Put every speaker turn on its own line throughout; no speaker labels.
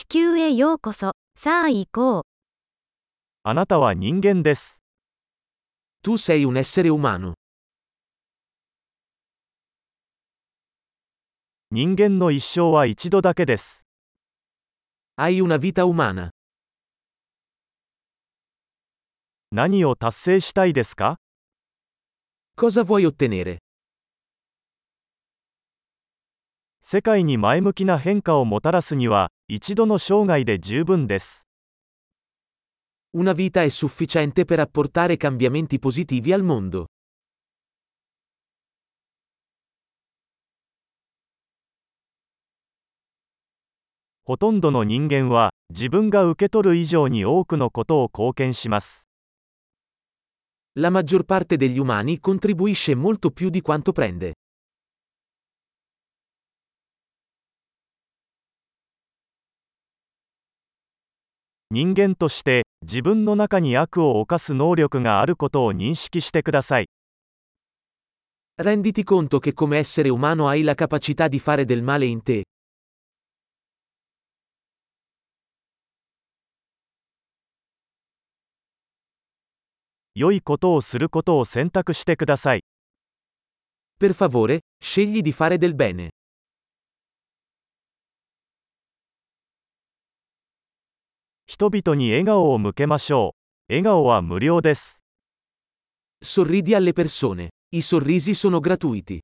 球へようこそ。さあ行こう。
あなたは人間です。
Tu sei un essere umano.
人間の一生は一度だけです。
Hai una vita umana.
何を達成したいですか？
Cosa vuoi ottenere?
世界に前向きな変化をもたらすには、一度の生涯で十分です。
Una vita è sufficiente per apportare cambiamenti positivi al mondo.
ほとんどの人間は、自分が受け取る以上に多くのことを貢献します。
La maggior parte degli umani contribuisce molto più di quanto prende.
人間として、自分の中に悪を犯す能力があることを認識してください。
Renditi conto che come essere umano hai la capacità di fare del male in te.
良いことをすることを選択してください。
Per favore, scegli di fare del bene.
人々に笑顔を向けましょう。笑顔は無料です。
Sorridi alle persone. I sorrisi sono gratuiti.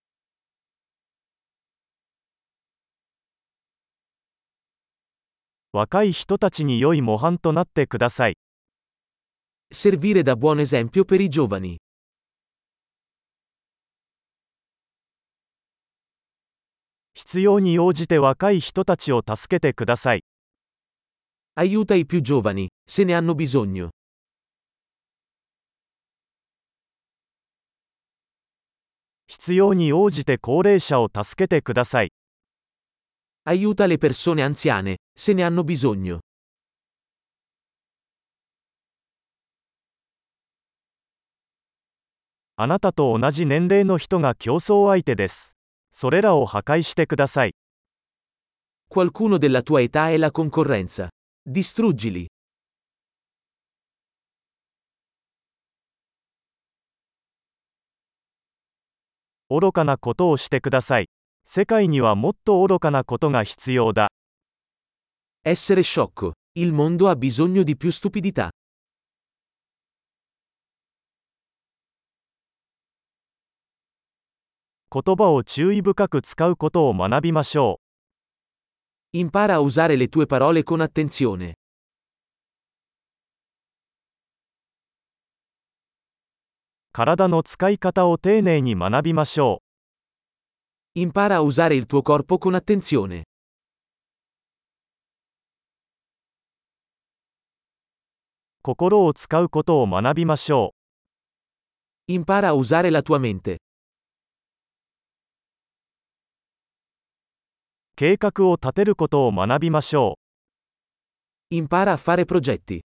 若い人たちに良い模範となってください。
Servire da buon esempio per i giovani.
必要に応じて若い人たちを助けてください。
Aiuta i più giovani, se ne hanno bisogno.
必要に応じて高齢者を助けてください。
Aiuta le persone anziane, se ne hanno bisogno.
あなたと同じ年齢の人が競争相手です。それらを破壊してください。
Qualcuno della tua età è la concorrenza. Distruggili.
愚かなことをしてください。世界にはもっと愚かなことが必要だ。
Essere sciocco. Il mondo ha bisogno di più stupidità.
言葉を注意深く使うことを学びましょう。
Impara a usare le tue parole con attenzione.
体の使い方を丁寧に学びましょう。
Impara a usare il tuo corpo con attenzione.
心を使うことを学びましょう。
Impara a usare la tua mente.
計画を立てることを学びましょう。
Impara a fare progetti.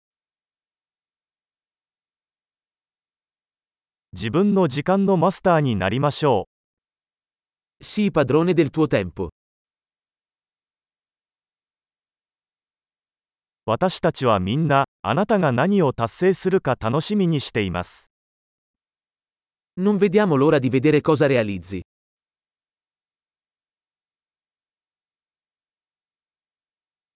自分の時間のマスターになりましょう。
Sii padrone del tuo tempo.
私たちはみんな、あなたが何を達成するか楽しみにしています。
Non vediamo l'ora di vedere cosa realizzi.